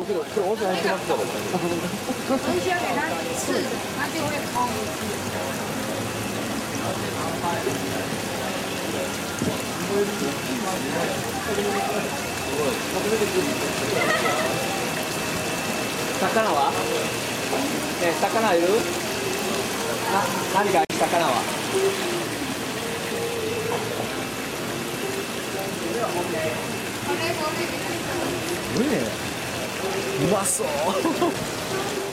这个温泉还是ますから。 必须要给它刺，它就会空。 魚は？ね、魚いる？何か魚は？すごいね。うまそう。